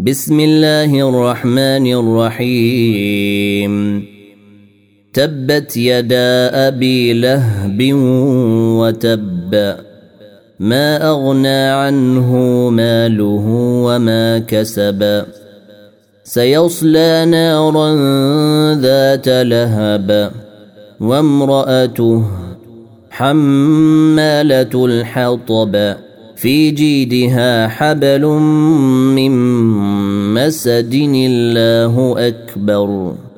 بسم الله الرحمن الرحيم تبت يدا أبي لهب وتب ما أغنى عنه ماله وما كسب سيصلى نارا ذات لهب وامرأته حمالة الحطب في جيدها حبل من مسد الله أكبر.